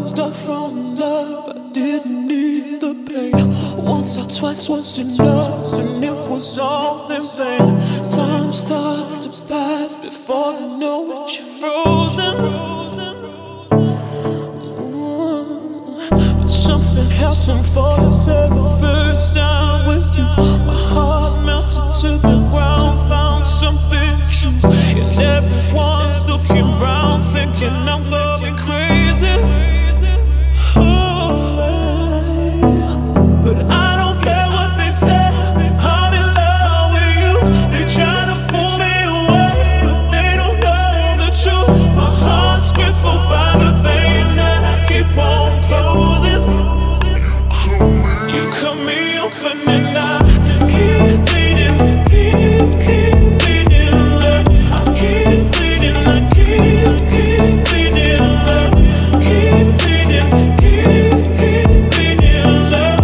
Start from love, I didn't need the pain. Once or twice was enough, and it was all in vain. Time starts to pass before you know it, you're frozen. But something happened for the very first time with you. My heart melted to the ground, found something true. And everyone's looking round, thinking I'm going crazy. But I don't care what they say, I'm in love with you. They try to pull me away, but they don't know the truth. My heart's crippled by the vein that I keep on closing. You cut me open and I keep bleeding, keep bleeding, love. I keep bleeding, I keep bleeding, love. Keep bleeding, keep bleeding, love.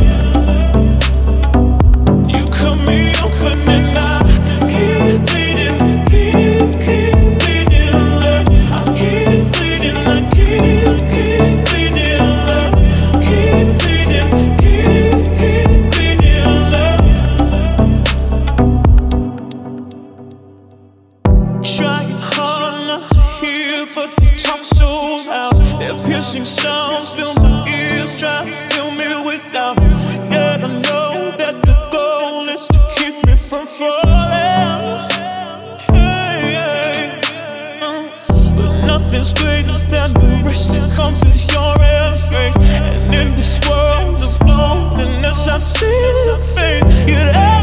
You cut me open and I keep bleeding, keep bleeding, love. I keep bleeding, I keep bleeding, love. Keep bleeding, keep bleeding, love. Trying hard not to hear, but they talk so loud. Their piercing sounds fill my ears, try to fill me without. Yet I know that the goal is to keep me from falling. Hey, but nothing's greater than the rest that comes with your embrace. And in this world of loneliness, I see the fate.